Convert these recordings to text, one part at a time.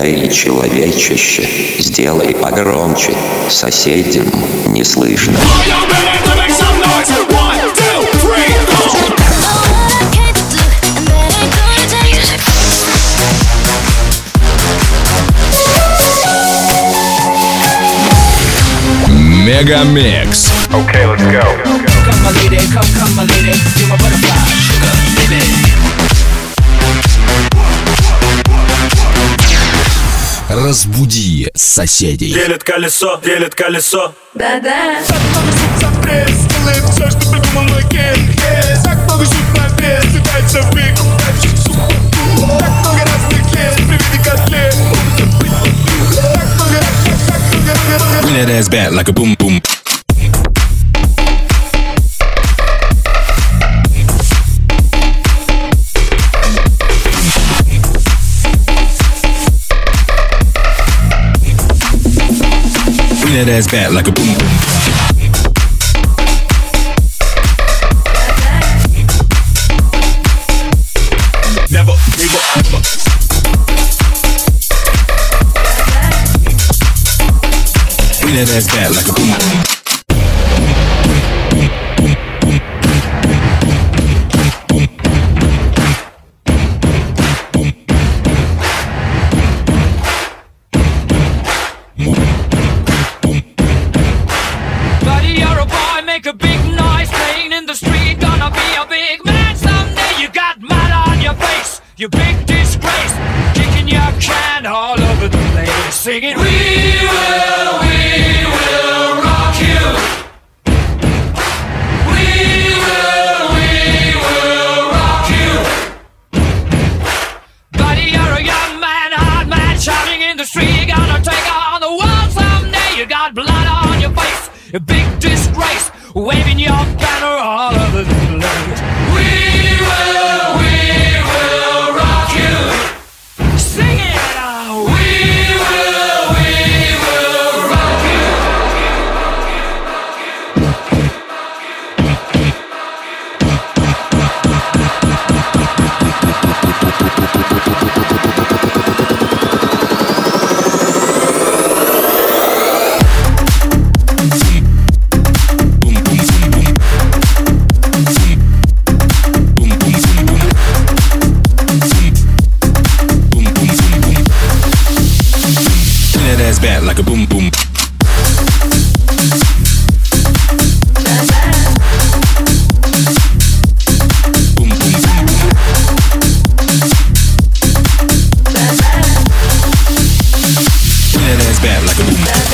Эй, человечище, сделай погромче, соседям не слышно. Мегамикс. Okay, let's go. Come my lady, come my lady, you're my butterfly, sugar, baby. Разбуди соседей. Делит колесо, делит колесо. Да-да. Так много сюрприз, делает все, что придумал мой кid. Так много сюрприз, летается в пик. Так много разных лет, приведи котлет. Bring that ass back like a boom boom. Bring that ass back like a boom boom. Never give up. Bring that ass back like a boom boom. Buddy, you're a boy, make a big noise, playing in the street, gonna be a big man someday. You got mud on your face, you big disgrace, kicking your can all over the place, singing, we will rock you. We will rock you. Buddy, you're a young man, hard man, shouting in the street, gonna take on the world someday. You got blood on your face, a big disgrace, waving your banner all over the place. We will rock you. Sing it now. We will rock you. Bring that ass back like a boom boom. Boom boom boom boom. Bring that ass back like a boom boom.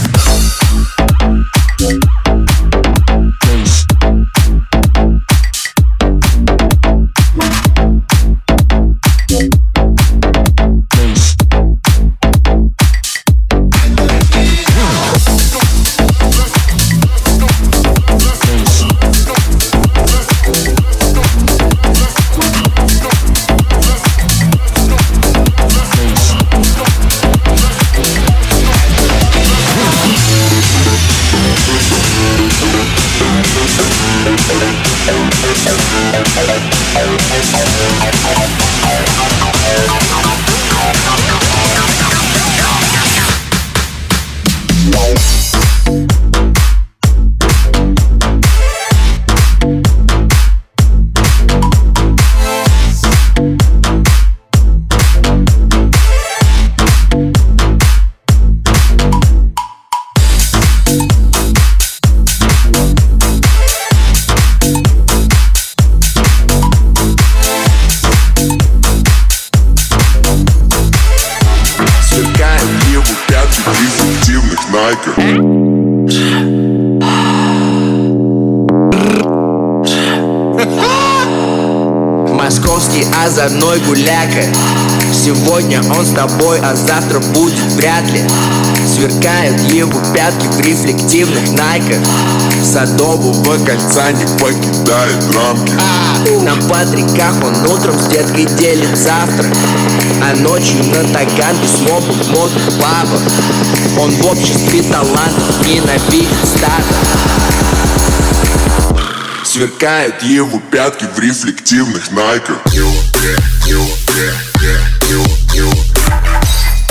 Московский озорной гуляка. Сегодня он с тобой, а завтра будет вряд ли. Сверкают его пятки в рефлективных найках. Садового кольца не покидает рамки. На Патриках он утром с деткой делит завтрак, а ночью на Таганке с мобом в модных пабах. Он в обществе талантов ненавидит стадо. Сверкают его пятки в рефлективных найках.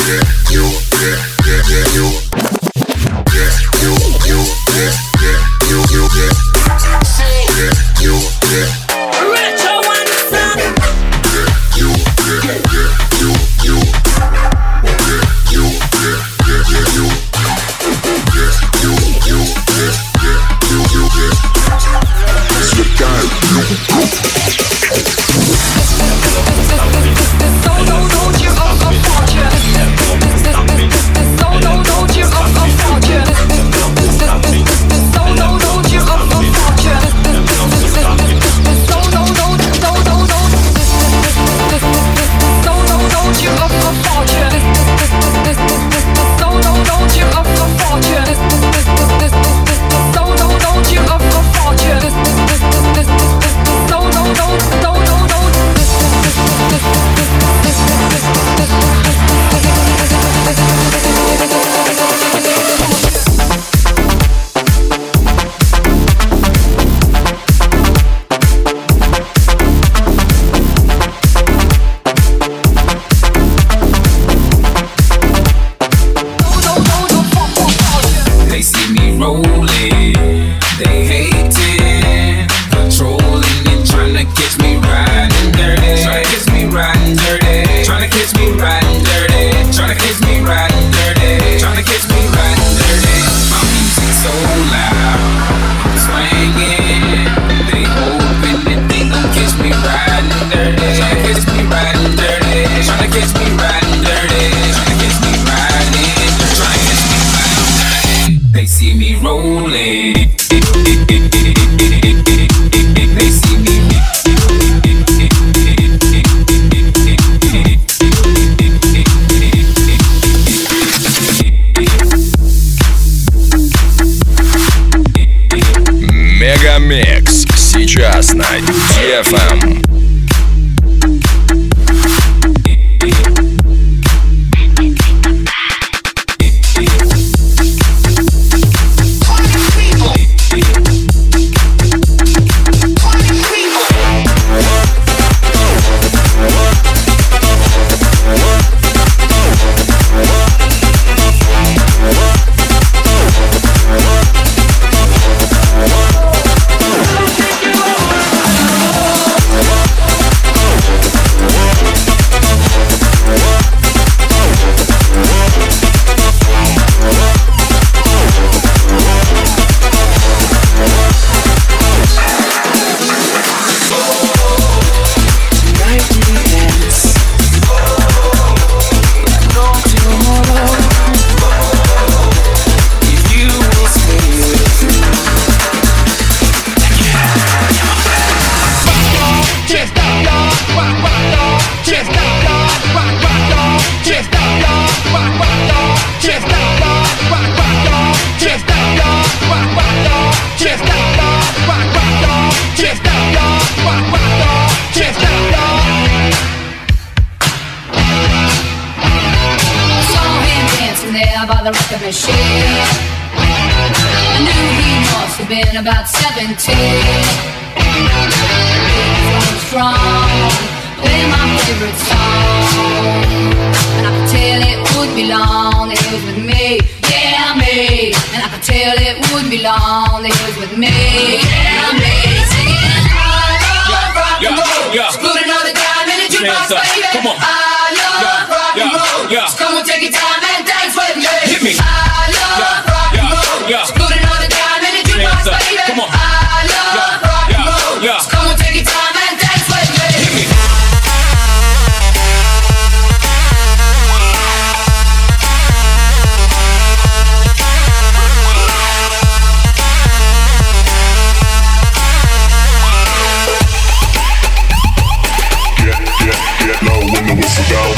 Мегамикс сейчас на DFM. By the record machine, I knew he must have been about 17. He was strong, playing my favorite song, and I could tell it wouldn't be long that he was with me, yeah me. And I could tell it wouldn't be long that he was with me, yeah me. Singing I love rock and roll, screw another dime in the jukebox, baby. Come on. I love rock and roll, so come on, take your time and dance with me. Hit me. I love rock and roll, screw another dime in the jukebox, baby. Come on. I love rock and roll, so come on, take your time and dance with me. Hit me. Get low when the whistle go.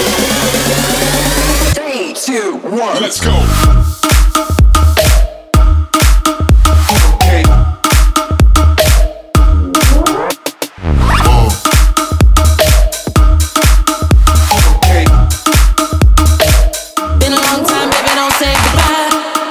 3, 2, 1. Let's go. Been a long time, baby, don't say goodbye.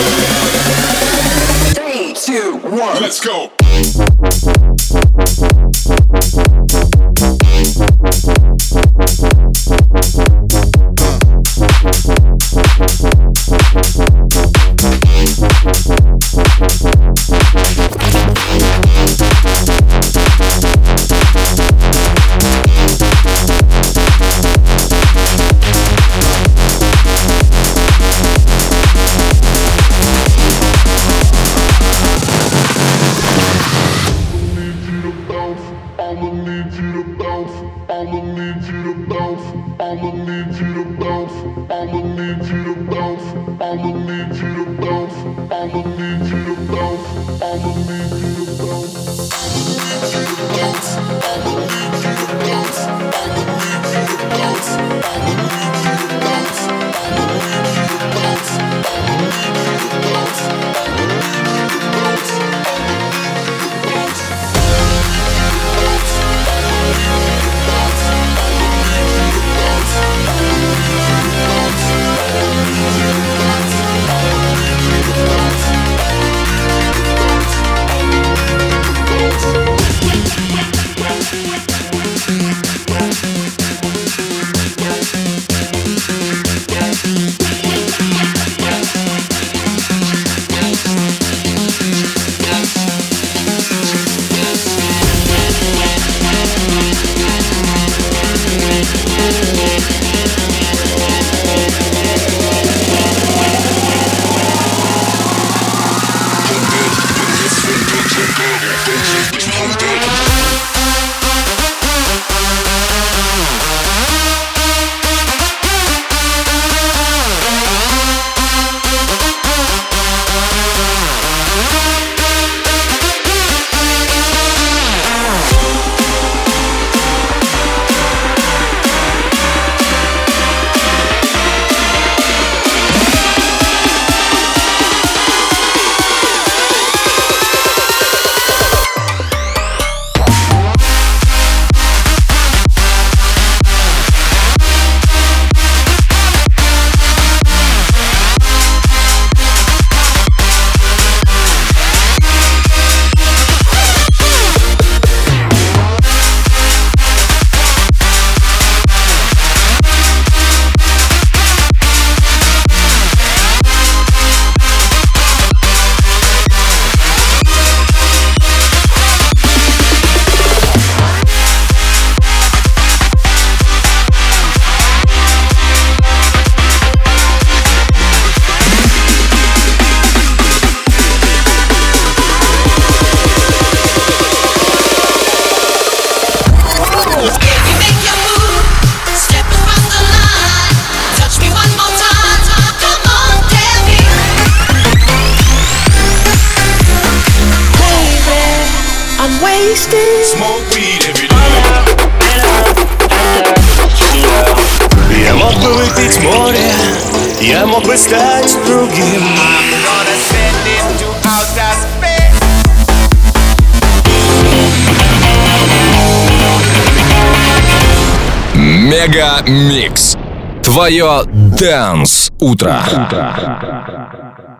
3, 2, 1. Let's go. Smoke weed every day. Я мог бы выпить море, я мог бы стать другим. Мега Микс. Твое Dance утро.